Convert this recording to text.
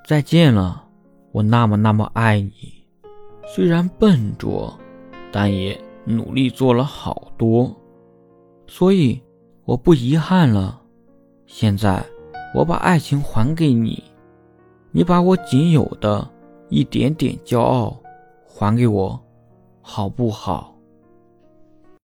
再见了，我那么爱你。虽然笨拙，但也努力做了好多，所以我不遗憾了。现在我把爱情还给你，你把我仅有的一点点骄傲还给我，好不好？